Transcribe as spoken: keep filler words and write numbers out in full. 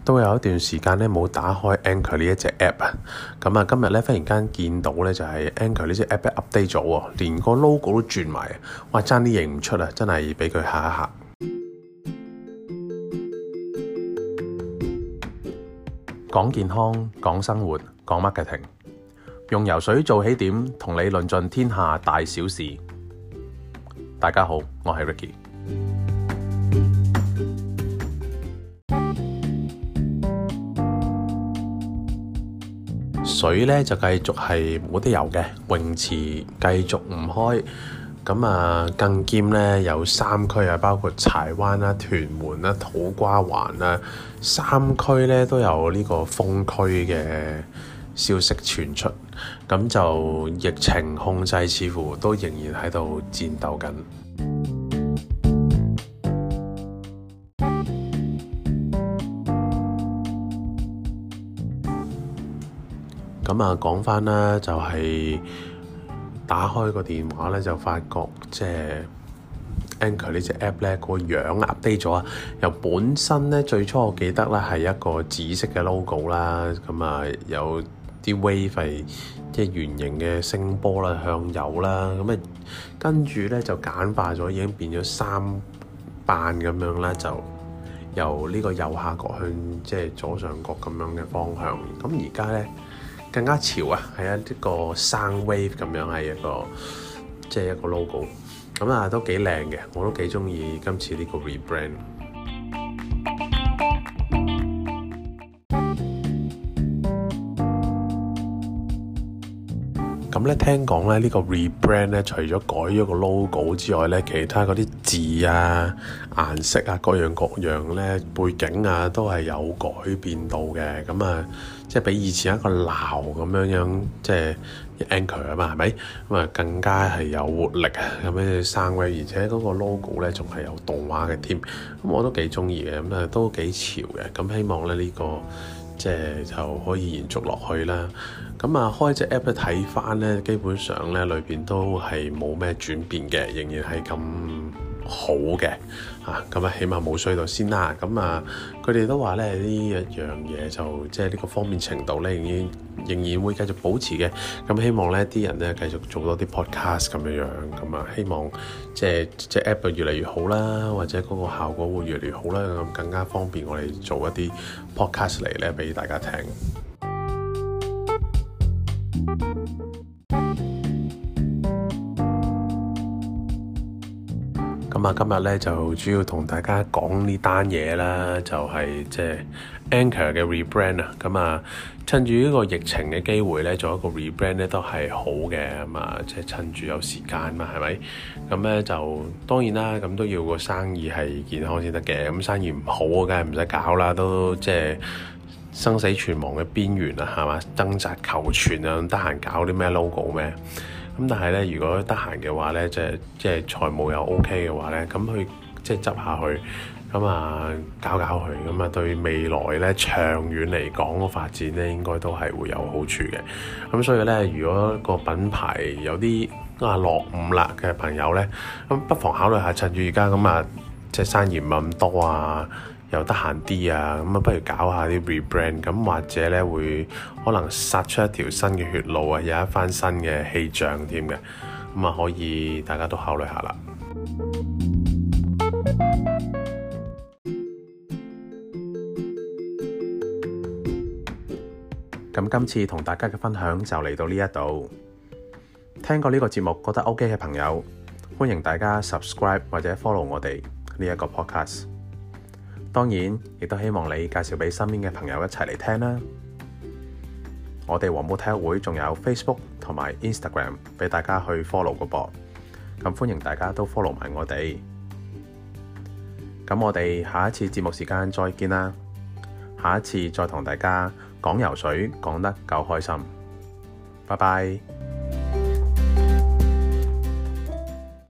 都有一段時間咧冇打開 Anchor 呢一隻 app 啊，咁啊今日咧忽然間見到咧就係 Anchor 呢隻 app update 咗喎，連個 logo 都轉埋，哇爭啲認唔出啊，真係俾佢嚇一嚇。講健康，講生活，講 marketing，用游水做起點，同你論盡天下大小事。大家好，我係 Ricky。水咧就繼續係冇得游嘅，泳池繼續唔開。咁啊，更兼咧有三區啊，包括柴灣啦、屯門啦、土瓜灣啦，三區咧都有呢個封區嘅消息傳出。咁就疫情控制似乎都仍然喺度戰鬥緊。咁啊，講翻啦，就係打開個電話咧，就發覺即係 Anchor 呢隻 app 咧個樣 update 咗啊！由本身咧最初我記得咧係一個紫色嘅 logo 啦，咁啊有啲 wave 係即係圓形嘅聲波啦，向右啦，咁啊跟住咧就簡化咗，已經變咗三瓣咁樣啦，就由呢個右下角向即係左上角咁樣嘅方向。咁而家咧更加潮啊，係一個 sound wave 咁樣，係一個即係一個 logo，咁啊都幾靚嘅，我都幾中意今次呢個 rebrand。咁咧聽講咧呢個 rebrand 咧，除咗改咗個 logo 之外咧，其他嗰啲字啊、顏色啊、各樣各樣咧、背景啊，都係有改變到嘅。咁啊，即係比以前一個鬧咁樣樣，即係 Anchor 啊嘛，係咪？咁啊，更加係有活力啊，咁樣生威，而且嗰個 logo 咧仲係有動畫嘅添。咁我都幾中意嘅，咁啊都幾潮嘅。咁希望咧呢個即係就可以延續落去啦。咁啊，開隻 app 睇翻咧，基本上咧裏邊都係冇咩轉變嘅，仍然係咁好嘅嚇。咁啊，起碼冇衰到先啦。咁啊，佢哋都話咧呢一樣嘢就即係呢個方便程度咧，仍然仍然會繼續保持嘅。咁希望咧啲人咧繼續做多啲 podcast 咁樣樣。咁啊，希望即係即係 app 越嚟越好啦，或者嗰個效果會越嚟越好啦，咁更加方便我哋做一啲 podcast 嚟咧俾大家聽。咁啊，今日咧就主要同大家講呢單嘢啦，就係即係 Anchor 嘅 rebrand 啊。咁啊，趁住呢個疫情嘅機會咧，做一個 rebrand 咧都係好嘅。咁啊，即係趁住有時間嘛，係咪？咁咧就當然啦，咁都要個生意係健康先得嘅。咁生意唔好，梗係唔使搞啦，都即係生死存亡嘅邊緣啊，係嘛？掙扎求存啊，得閒搞啲咩 logo 咩？咁但係咧，如果得閒嘅話咧，即係即係財務又 OK 嘅話咧，咁佢即係執下去，咁啊搞搞佢，咁啊對未來咧長遠嚟講個發展咧，應該都係會有好處嘅。咁所以咧，如果個品牌有啲啊落伍啦嘅朋友咧，咁不妨考慮下趁住而家咁啊，即係生意唔係咁多啊，又得閒啲啊，咁啊不如搞下啲 rebrand， 咁或者咧會可能殺出一條新嘅血路啊，有一番新嘅氣象添嘅，咁啊可以大家都考慮下啦。咁今次同大家嘅分享就嚟到呢一度，聽過呢個節目覺得 OK 嘅朋友，歡迎大家 subscribe 或者 follow 我哋呢一個 podcast。當然，亦都希望你介紹俾身邊嘅朋友一齊嚟聽啦。我哋黃埔體育會仲有 Facebook 同埋 Instagram 俾大家去 follow 個噃，咁歡迎大家都 follow 埋我哋。咁我哋下一次節目時間再見啦，下一次再同大家講游水講得夠開心，拜拜。